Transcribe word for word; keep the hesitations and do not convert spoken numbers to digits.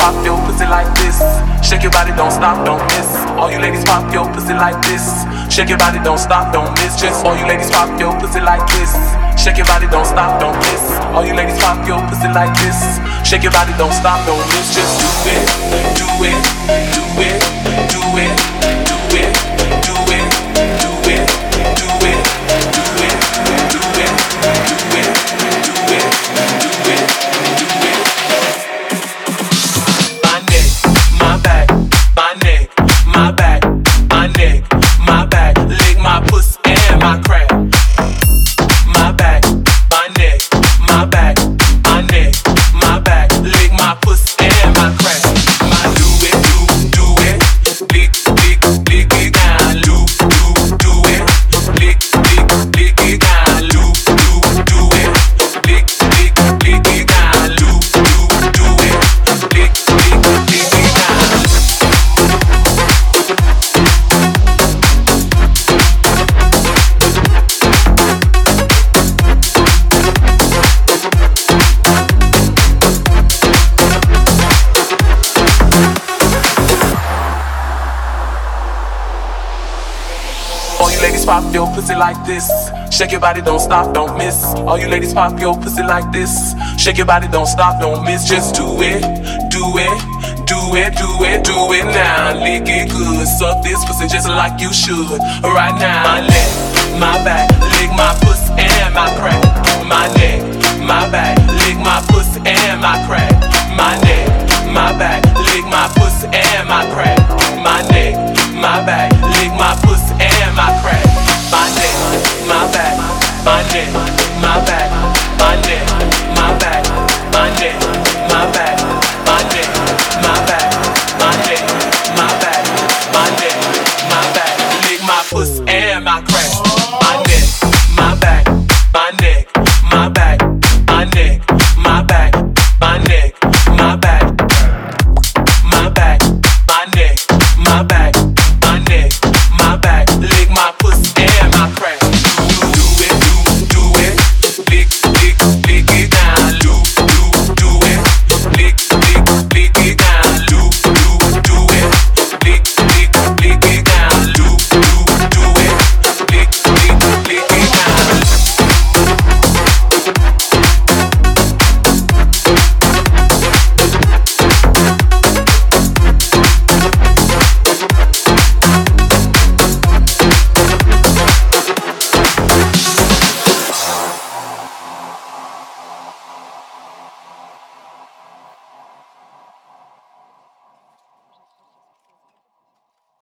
pop your pussy like this. Shake your body, don't stop, don't miss. All you ladies pop your pussy like this. Shake your body, don't stop, don't miss. Just all you ladies pop your pussy like this. Shake your body, don't stop, don't miss. All you ladies pop your pussy like this. Shake your body, don't stop, don't miss. Just do it, do it, do it, do it, do it, do it, do it, do it, do it, do it, do it, do it, do it, do it. My neck, my back, my neck, my back, my neck, my back. Lick my pussy and my crack. My back, my neck, my back, my neck, my back. Lick my pussy and my crack. My do it, do, do it. Lick, lick, lick it down. Loop, loop, do it. Lick, lick, lick it down. Loop, loop, do it. Lick, lick, lick it down. Loop, loop, do it. Lick, lick, lick it down. All you ladies pop your pussy like this. Shake your body, don't stop, don't miss. All you ladies pop your pussy like this. Shake your body, don't stop, don't miss. Just do it, do it, do it, do it, do it now. Lick it good, suck this pussy just like you should. Right now, my neck, my back, lick my pussy and my crack. My neck, my back, lick my pussy.